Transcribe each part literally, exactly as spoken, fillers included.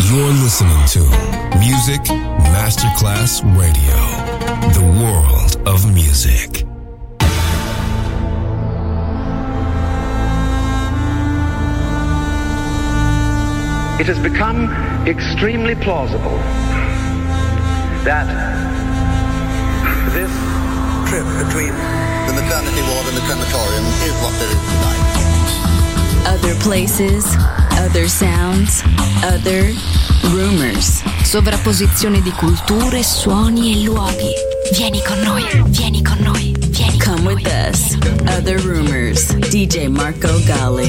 You're listening to Music Masterclass Radio, the world of music. It has become extremely plausible that this trip between the maternity ward and the crematorium is what there is tonight. Other places, other sounds, other rumors. Sovrapposizione di culture, suoni e luoghi. Vieni con noi, vieni con noi, vieni con noi. Come with us. Other rumors. D J Marco Gally.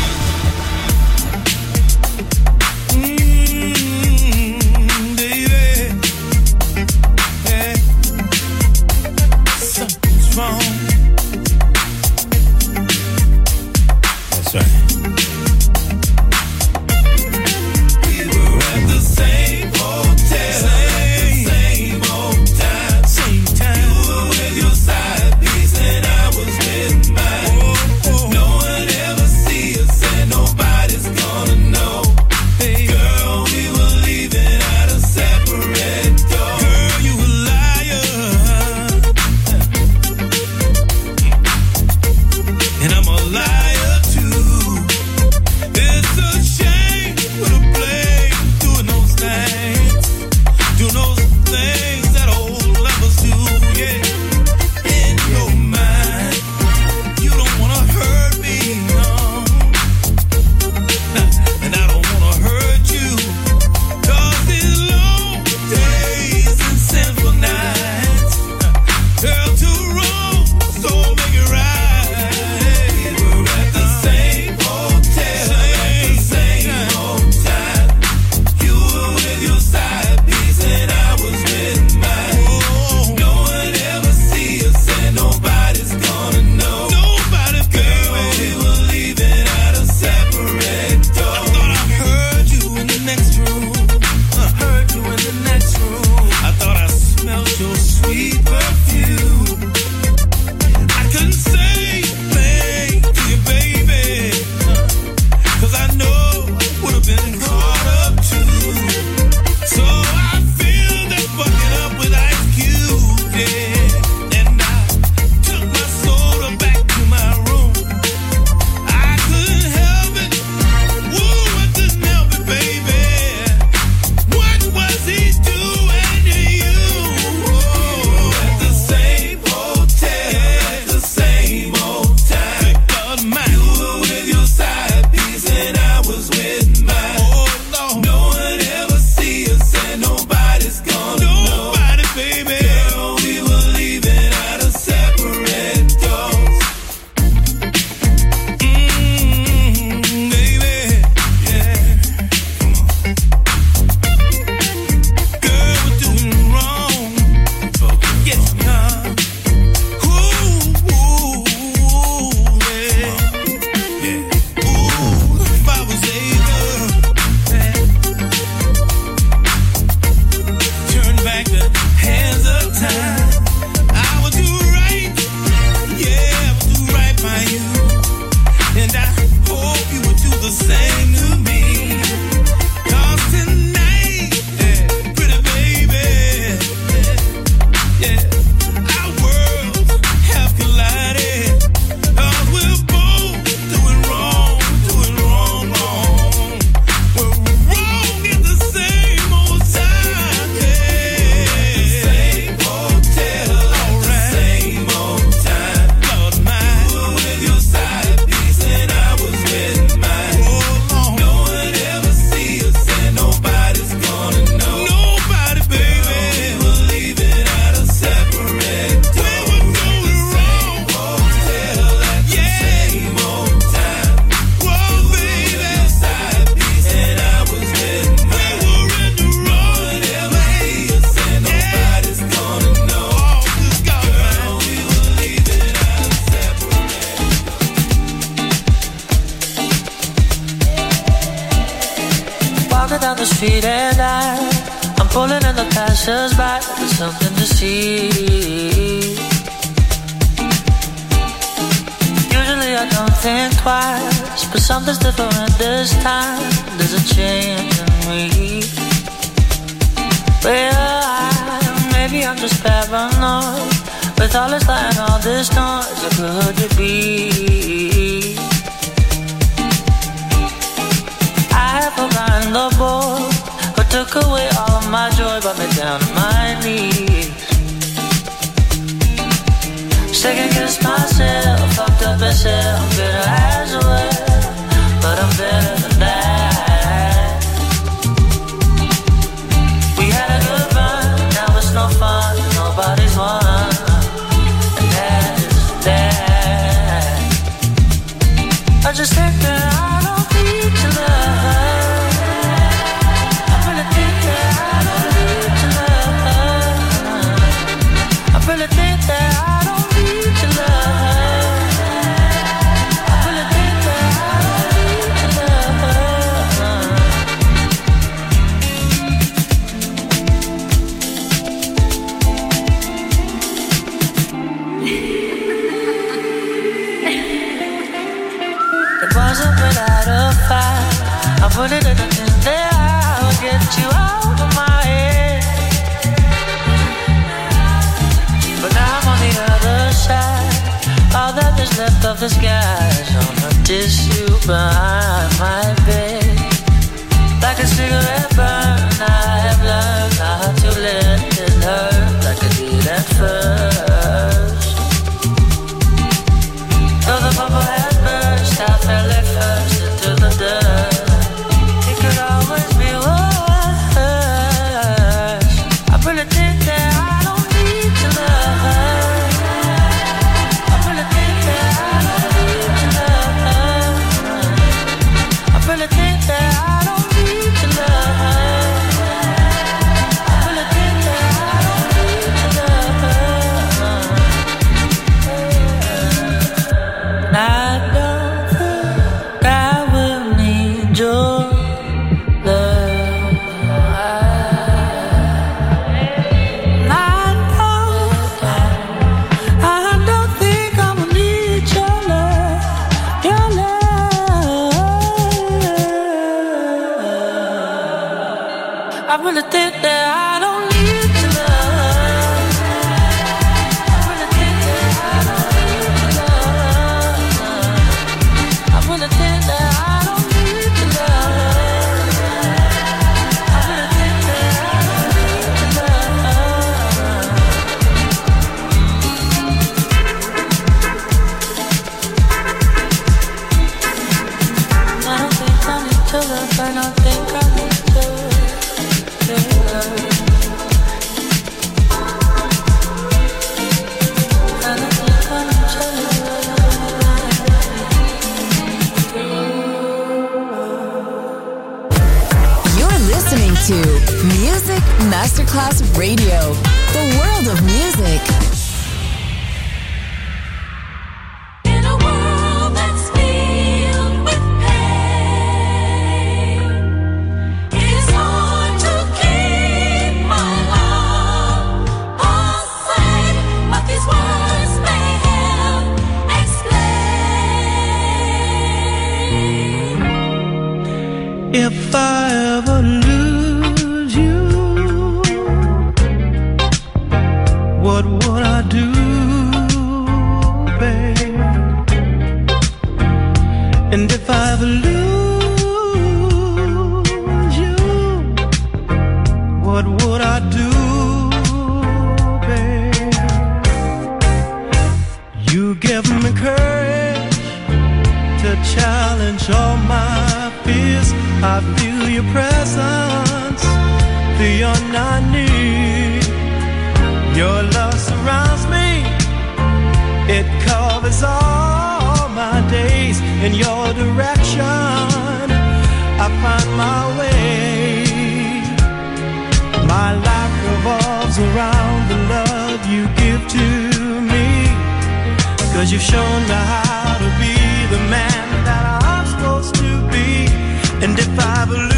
down the street and I, I'm pulling in the passers-by. There's something to see. Usually I don't think twice, but something's different this time. There's a change in me. me. Well, I, maybe I'm just paranoid. With all this light and all this noise, it could be. I have forgotten the book, but took away all of my joy, brought me down to my knees. Second guess myself, fucked up and said I'm bitter as well, but I'm better than that. We had a good run, now it's no fun, nobody's won. I just think that I don't need your love. I really think that I don't need your love. I really think that I don't need your love. I really think that I don't need your wasn't without a fight. I put it in the things that I would get you out of my head. But now I'm on the other side. All that is left of the skies on a tissue behind my bed. Like a cigarette burn, I have learned not to let it hurt like I did at first. Though the bubble had burst, I fell at first into the dirt. It could always be worse. I really think that I don't need your love. I really think that I don't need your love. I really think that I don't need your love. I really think that I don't need your love. And I don't think I will need your love. I don't, I don't think I will need your love, your love. I really think that I don't need your love. I really think that I don't need your love. I really think that I don't need your love. I really think that I don't need your love. I don't think I need your love. I don't think I need your love. I don't think I need your love. You're listening to Music Masterclass Radio, the world of music. In a world that's filled with pain, it's hard to keep my heart aside. What these words may help explain. If I ever lose you, what would I do, babe? And if I ever lose you, what would I do, babe? You give me courage to challenge all my fears. I feel your presence beyond I need. Your love surrounds me, it covers all my days. In your direction, I find my way. My life revolves around the love you give to me. 'Cause you've shown me how to be the man that I'm supposed to be. And if I ever lose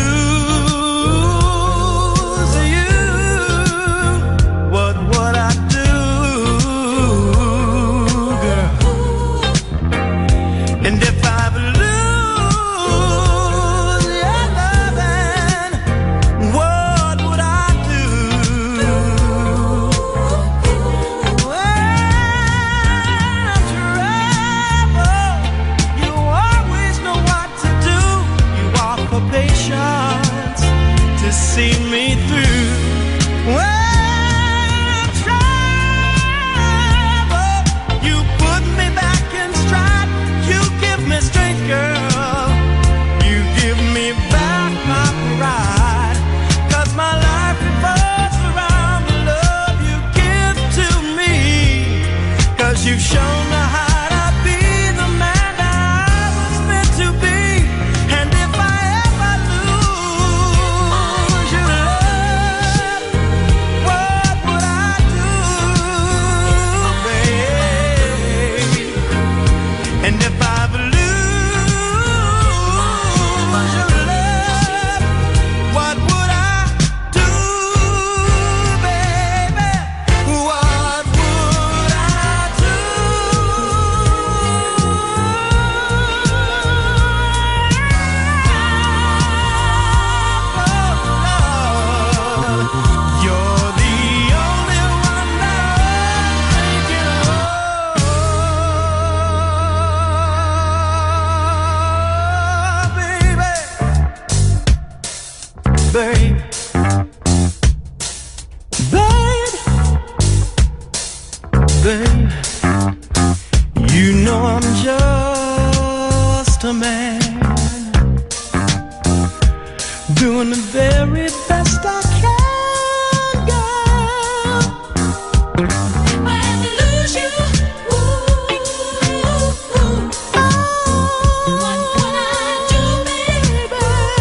you, what would I do, girl? And if I ever lose your loving, patience to see me through. Well, trouble, you put me back in stride. You give me strength, girl. You give me back my pride. 'Cause my life revolves around the love you give to me. 'Cause you've shown me how to be the man that I was meant to be. And if I ever lose your love, what would I do, babe? And if I ever lose your love, what would I do, baby? What would I do? You're the only one that I'm thinking of, baby. Babe, babe, babe, you know I'm just a man doing the very best I can, girl. When we lose you, ooh, ooh, what would I do, baby?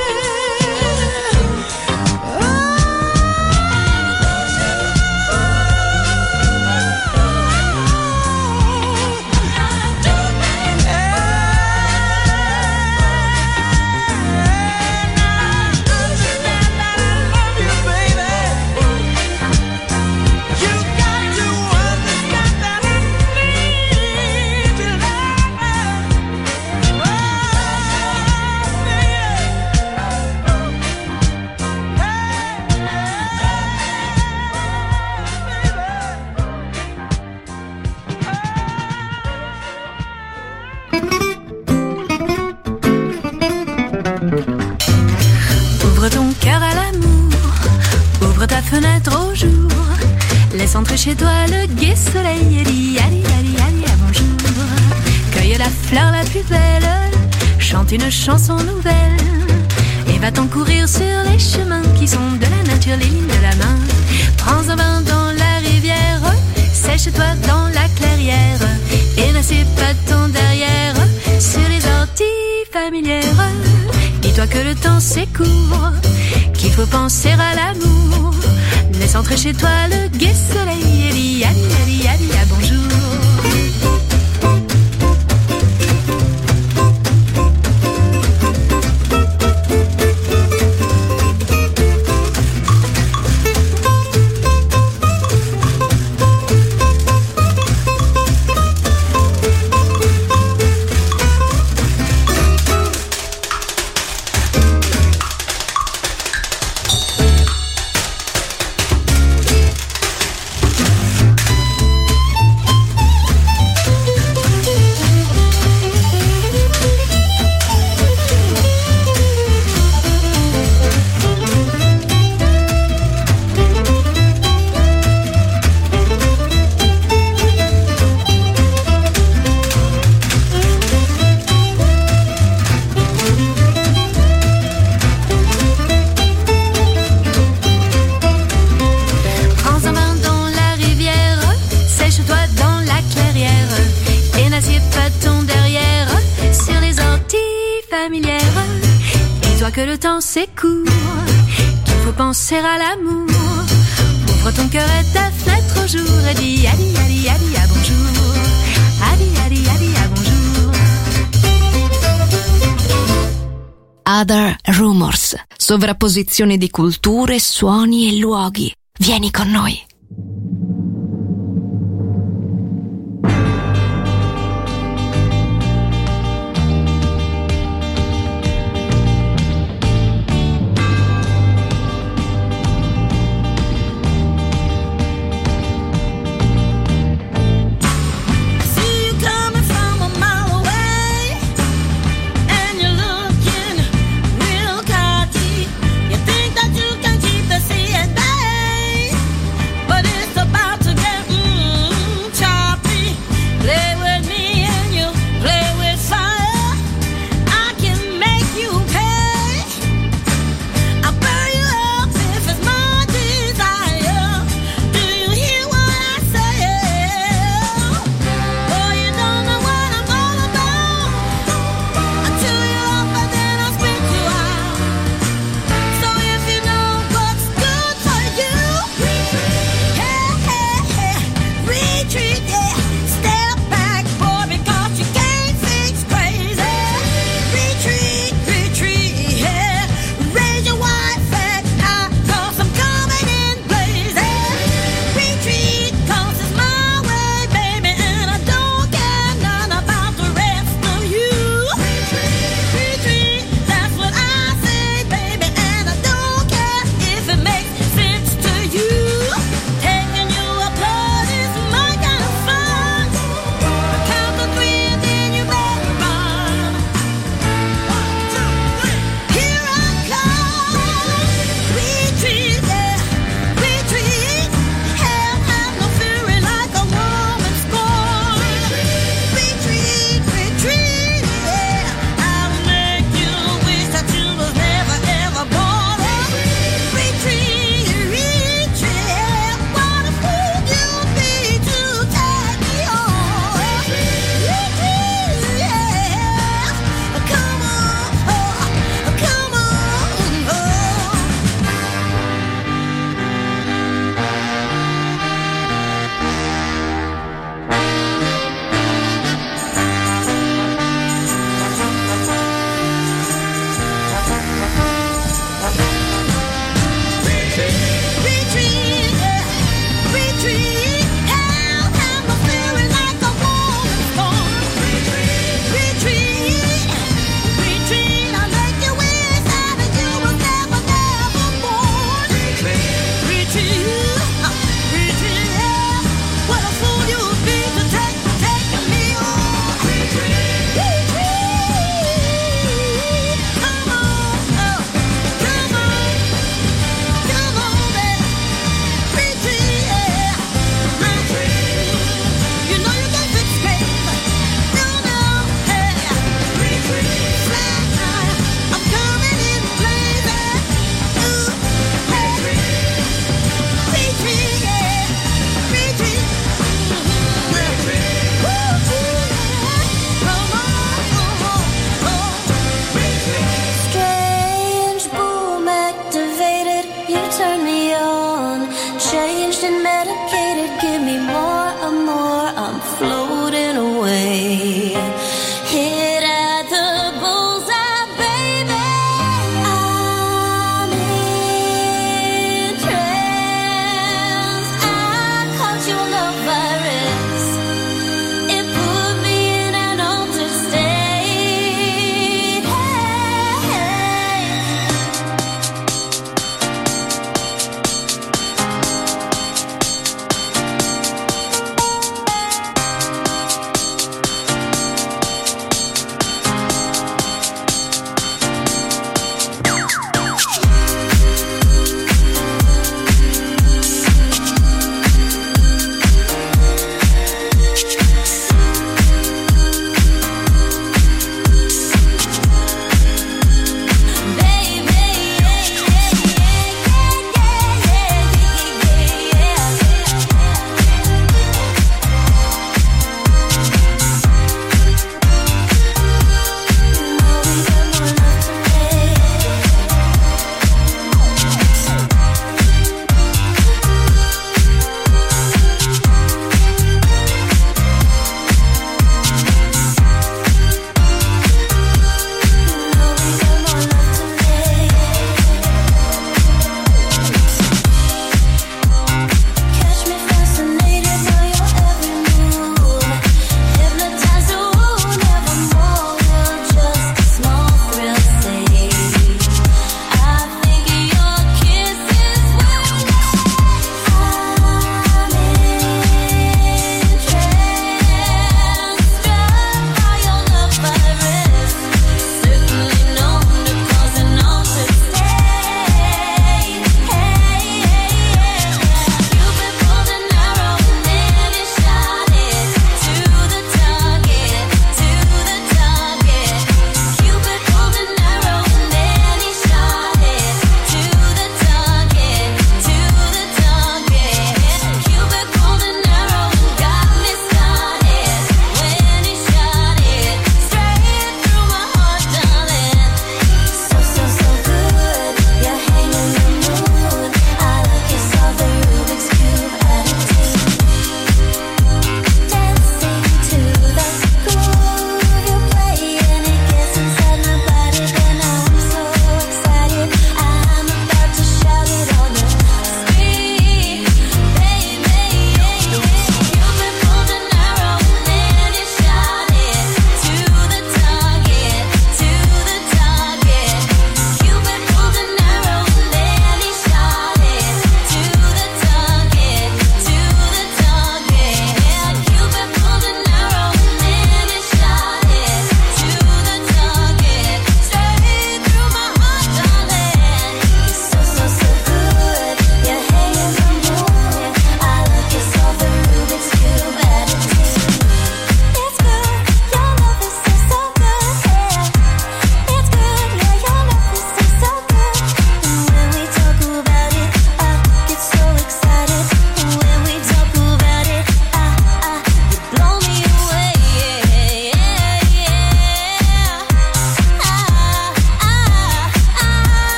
Ouvre ton cœur à l'amour, ouvre ta fenêtre au jour, laisse entrer chez toi le gai soleil et dis allez, allez, allez, à bonjour. Cueille la fleur la plus belle, chante une chanson nouvelle, et va-t'en courir sur les chemins qui sont de la nature, les lignes de la main. Prends un bain dans la rivière, sèche-toi dans la clairière, et n'assieds pas ton derrière sur les orties familières. Dis-toi que le temps s'écourt, qu'il faut penser à l'amour. Laisse entrer chez toi le gai soleil et dis allez, allez, allez, à bonjour. Que le temps s'écourt, qu'il faut penser à l'amour. Ouvre ton cœur et ta fenêtre au jour et dis allez, allez, allez, à bonjour. Allez, allez, allez, à bonjour. Other Rumors, sovrapposizione di culture, suoni e luoghi. Vieni con noi. Real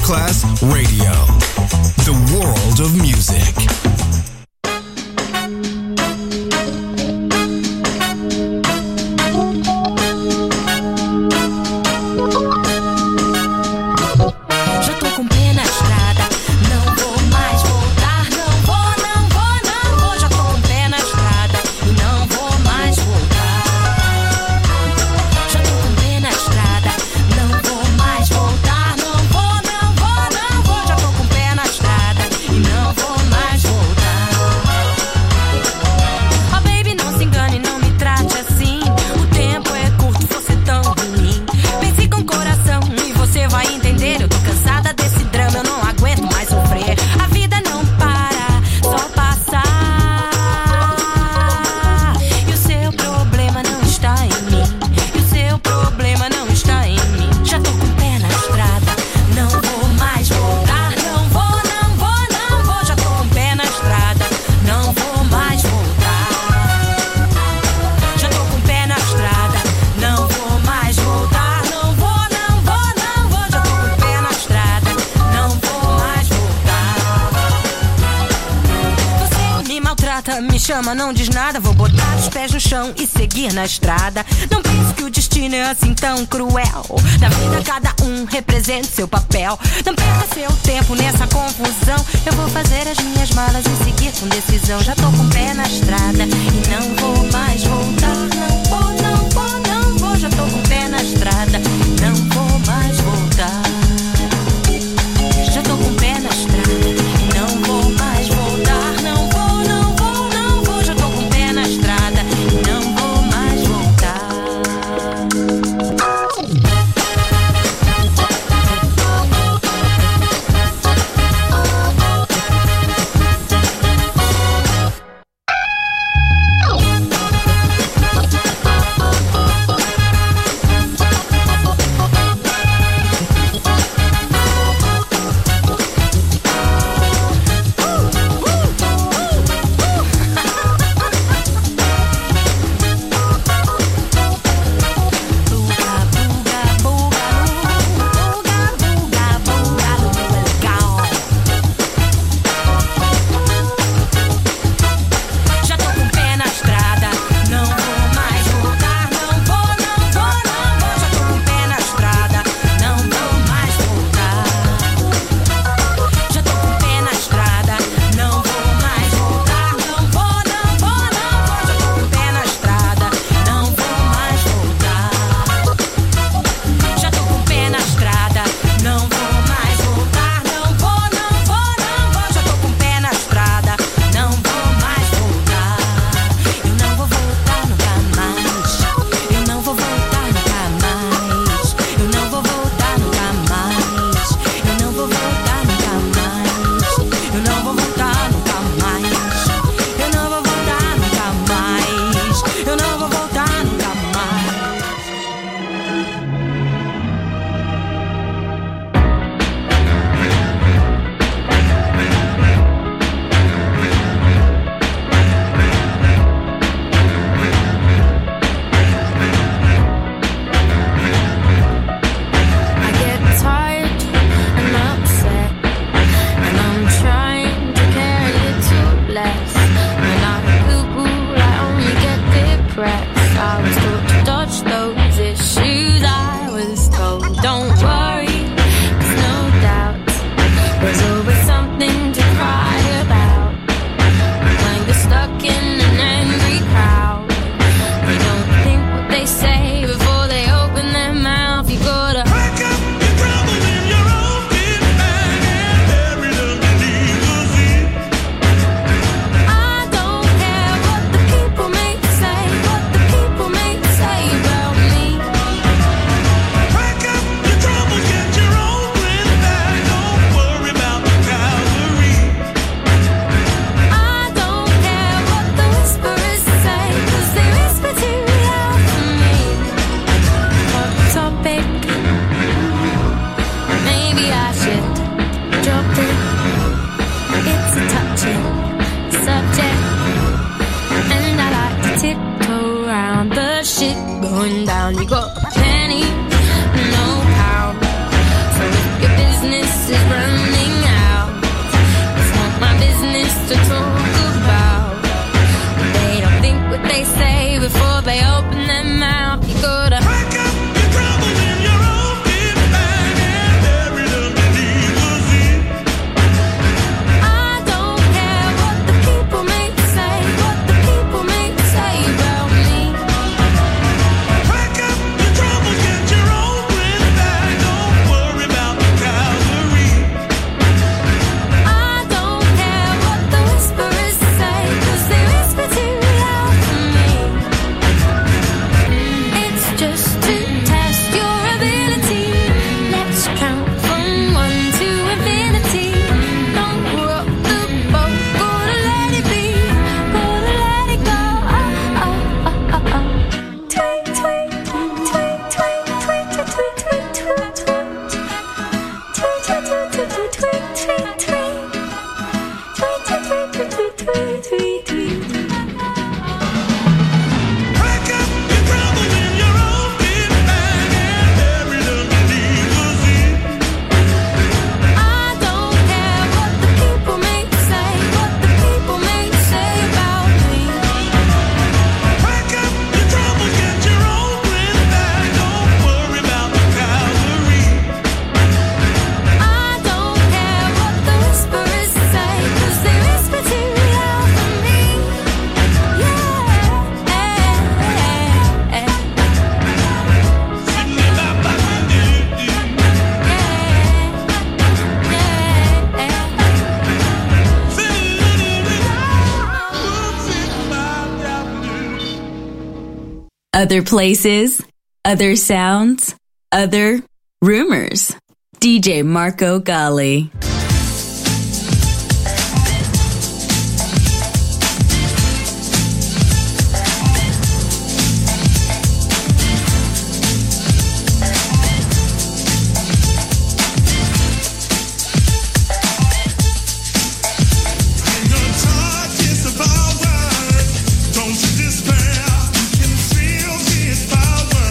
Masterclass Radio. The world of music. Chama, não diz nada, vou botar os pés no chão e seguir na estrada. Não pense que o destino é assim tão cruel. Na vida cada um representa seu papel. Não perca seu tempo nessa confusão. Eu vou fazer as minhas malas e seguir com decisão. Já tô com o pé na estrada e não vou mais voltar. Não vou, não vou, não vou. Já tô com o pé na estrada, não vou mais voltar. Já tô com o pé na estrada e não vou mais voltar. Não vou, não vou, não vou. Já tô com o pé na estrada e não vou mais voltar. Going down, you got a penny, no pound. So if your business is Other places, other sounds, other rumors. D J Marco Gally.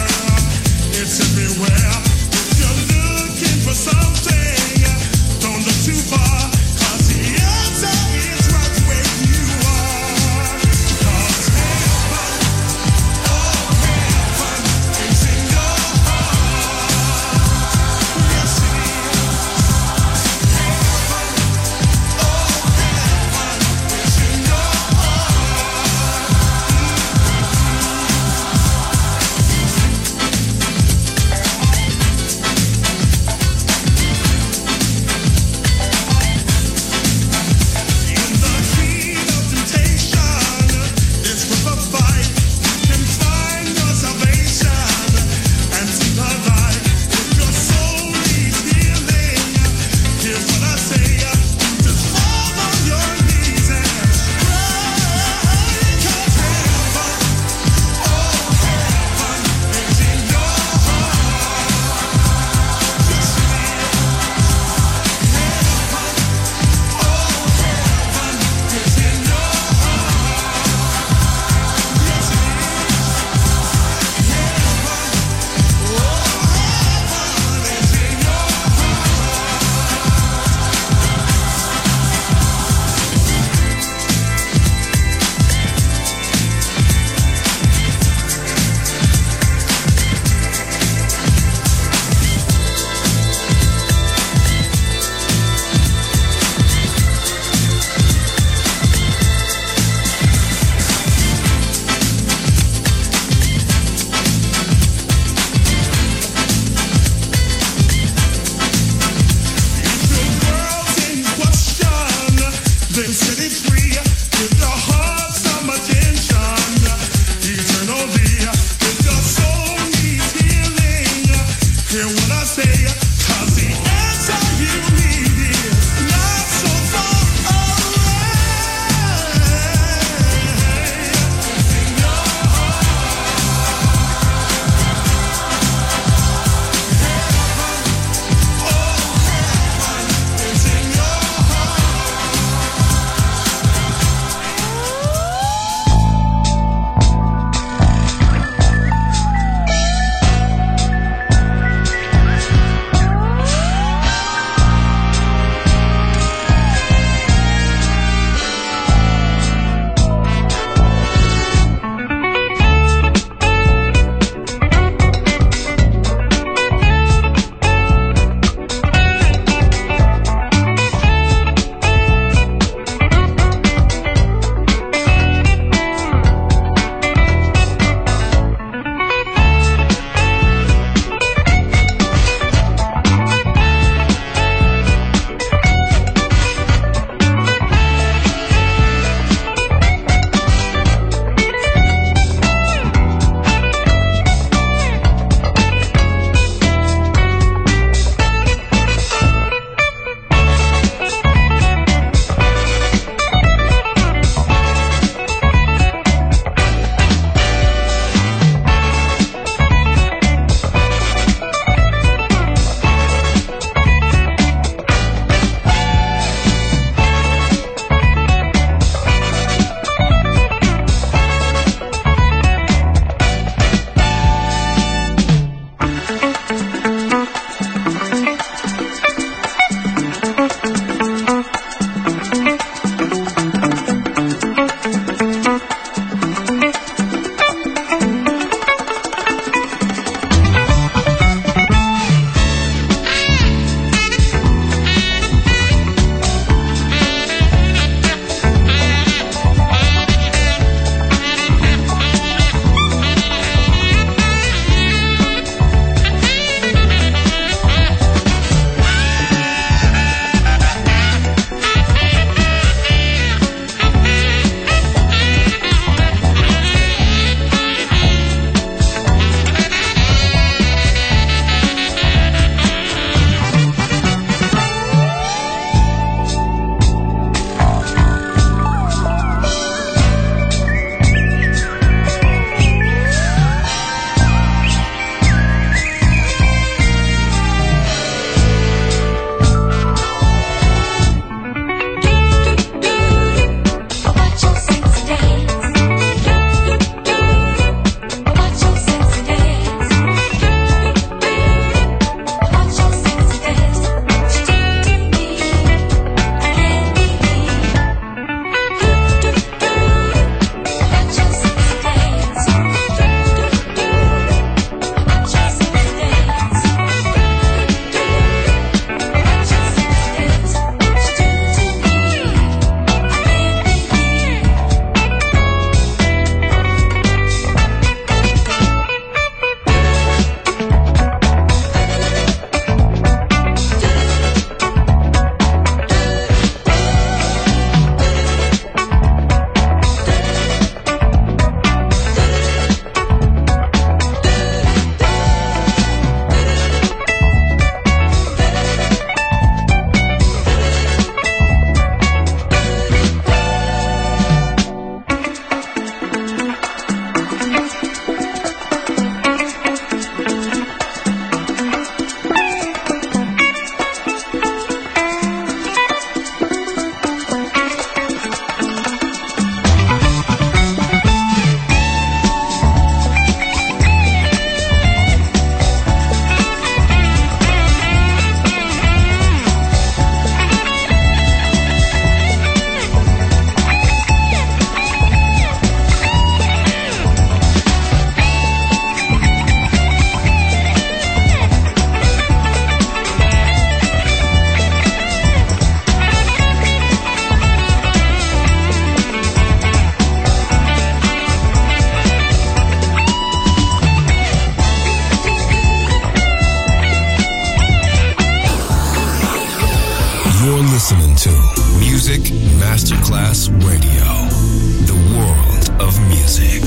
Everywhere, if you're looking for something, don't look listening to Music Masterclass Radio, the world of music.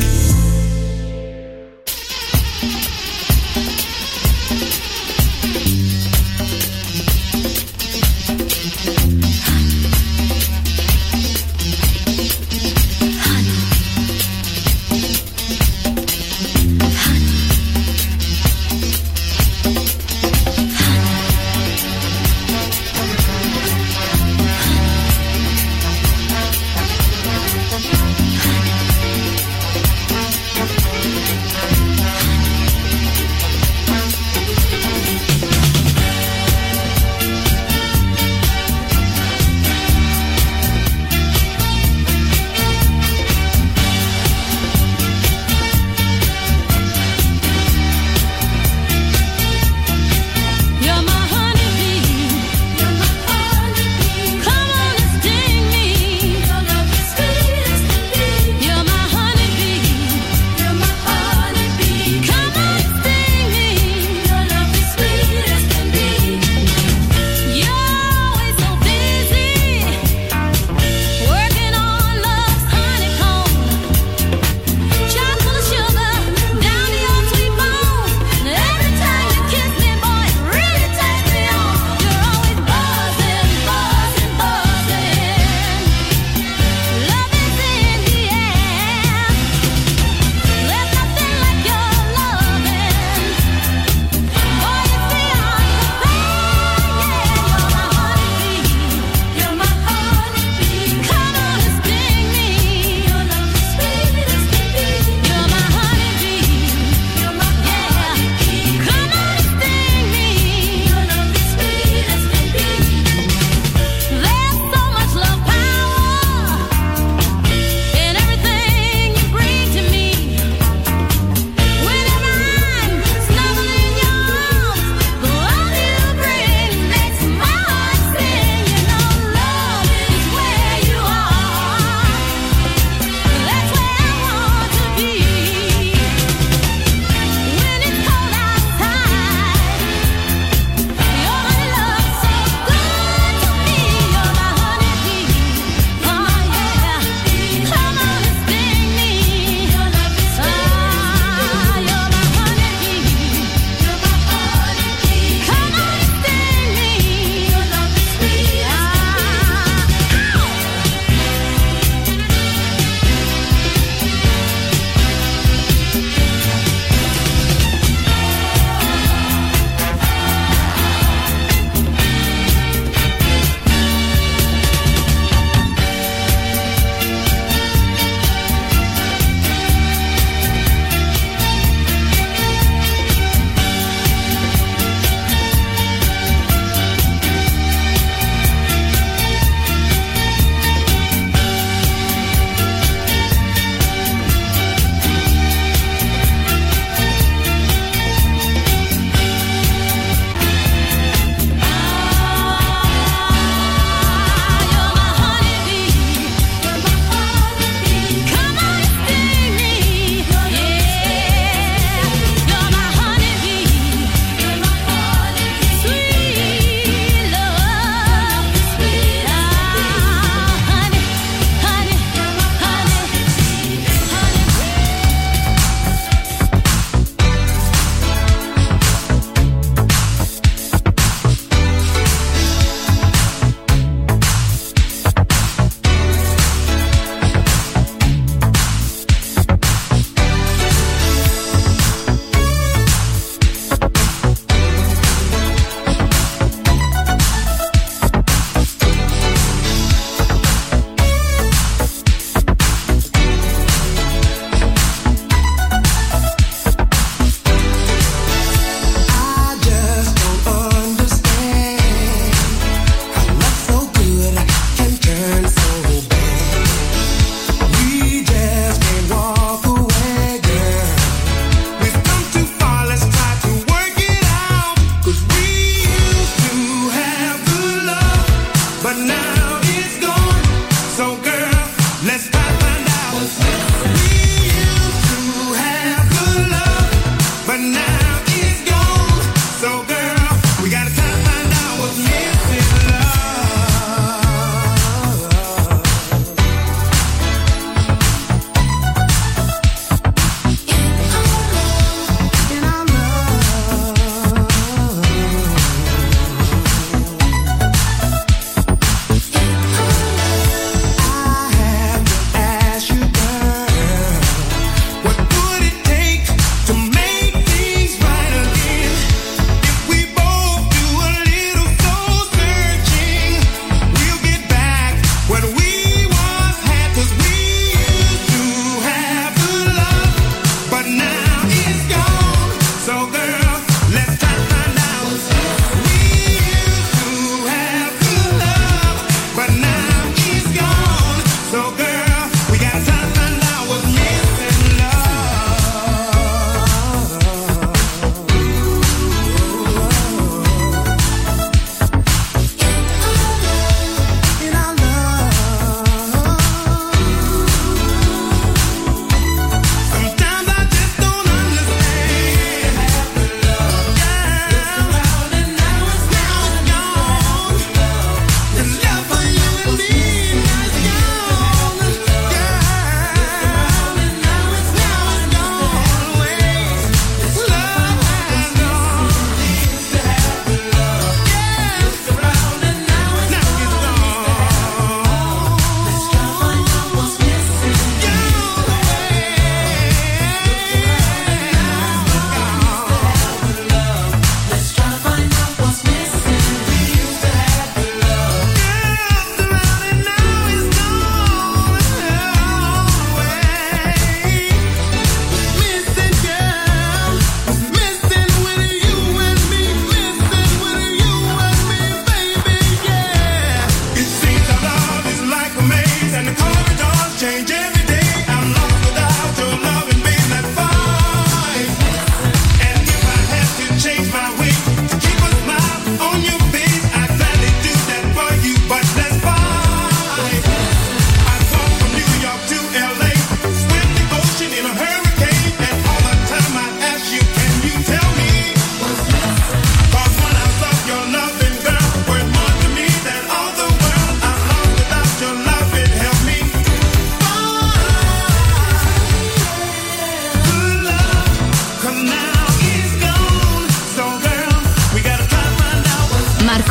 Honey.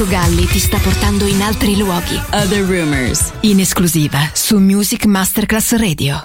Marco Galli ti sta portando in altri luoghi. Other Rumors, in esclusiva su Music Masterclass Radio.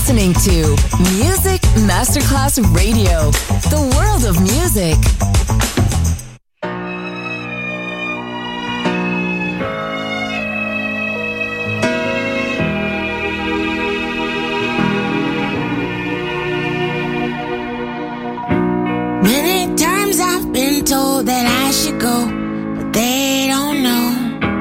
listening to Music Masterclass Radio, the world of music. Many times I've been told that I should go, but they don't know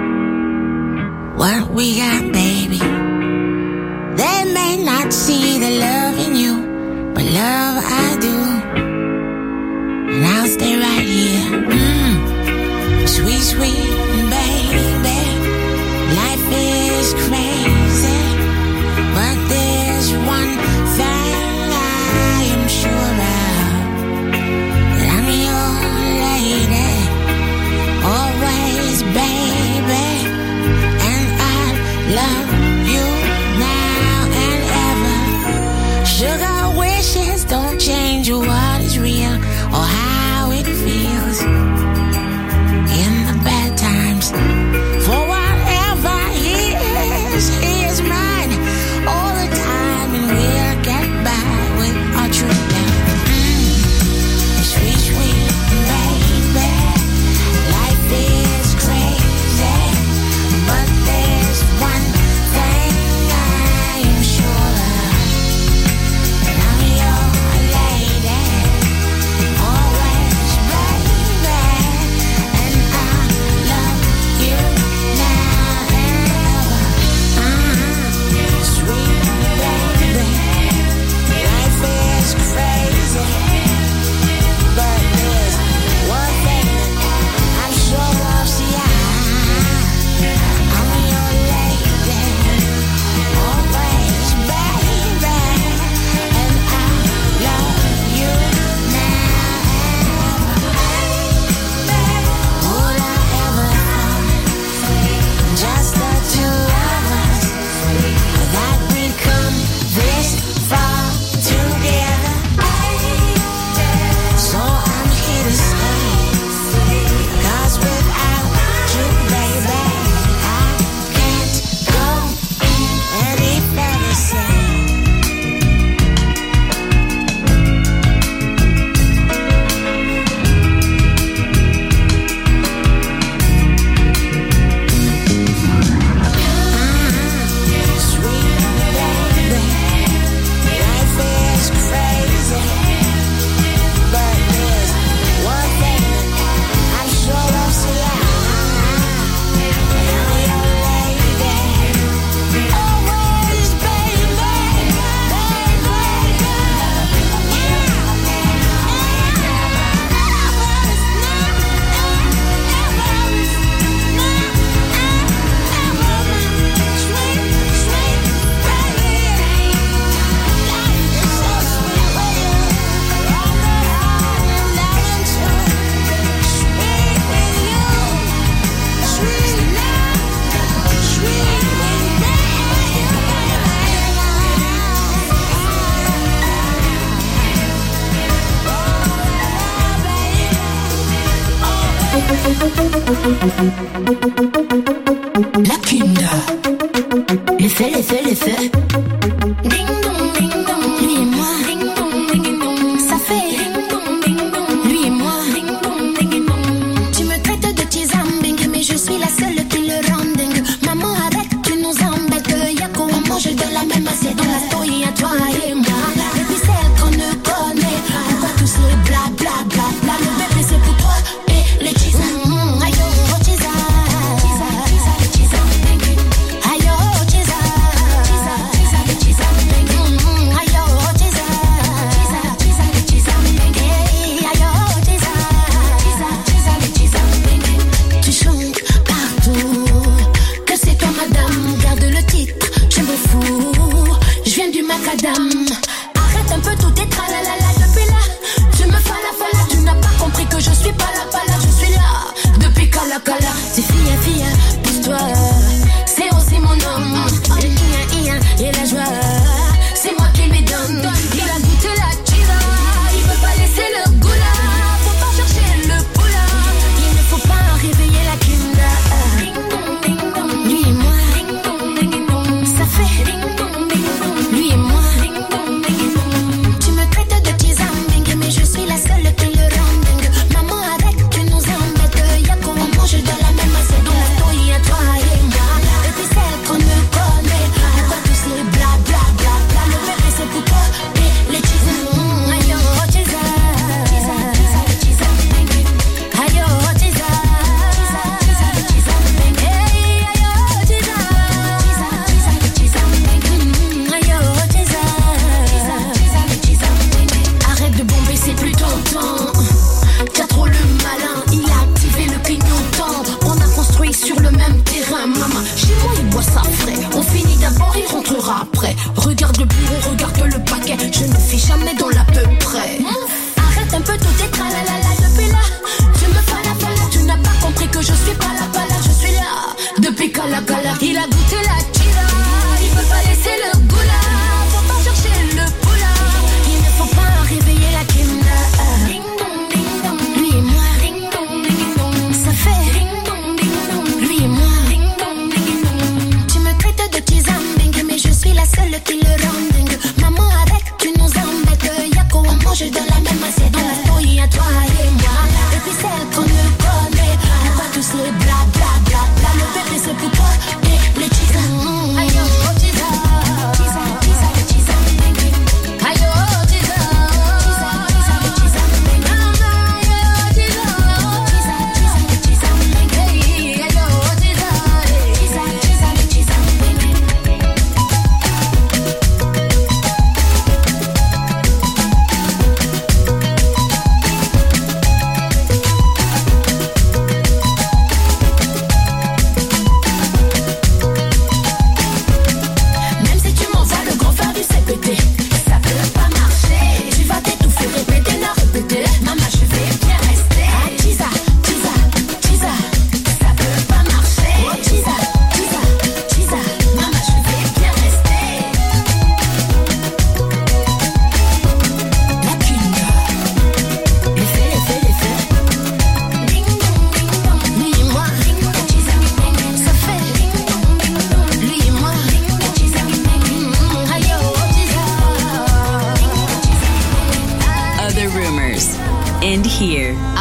what we got, baby. They may not see the love in you, but love I do. And I'll stay right here. Mm. Sweet, sweet baby. Life is crazy, but there's one thing I am sure of. That I'm your lady, always, baby. And I love you now and ever. Sugar wishes don't change what is real or how it feels in the bad times. For whatever he is, he is mine all the time, and we'll get by with our true love. Mm. Sweet, sweet baby, life is crazy, but there's one thing I am sure of. And I'm your lady, always, baby. And I love you now and ever. Uh-huh. Sweet baby, life is crazy, but there's one thing I'm sure of. See, I, I'm your lady, always, baby. And I love you now and ever. Would I ever thought, just the two of us, that we'd come this far together? So I'm here to stay, 'cause without you, baby, I can't go any further. Say, sweet baby, life is crazy, but there's one thing I'm sure of. See, I, I'm your lady, always, baby, La Kunda. L'effet, l'effet, l'effet. Ding dong, ding dong. Lui et moi. Ding dong, ding dong. Ça fait. Ding dong, ding dong. Lui et moi. Ding dong, ding dong. Tu me traites de tizambing, mais je suis la seule qui le rend dingue. Maman, arrête, tu nous embêtes. Y'a qu'on mange de la même assiette. On la story à toi et moi. Et puis celle qu'on ne connaît. Pourquoi tous les bla bla bla bla. Le bébé c'est pour toi et les tizam. Ayo, tizam. Ayo, tizam. Lui et moi,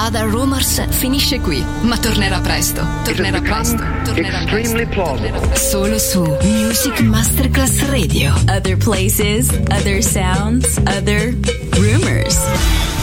Other Rumors finisce qui, ma tornerà presto. Tornerà presto. Tornerà extremely presto. plausible. Tornerà solo su Music Masterclass Radio. Other places, other sounds, other rumors.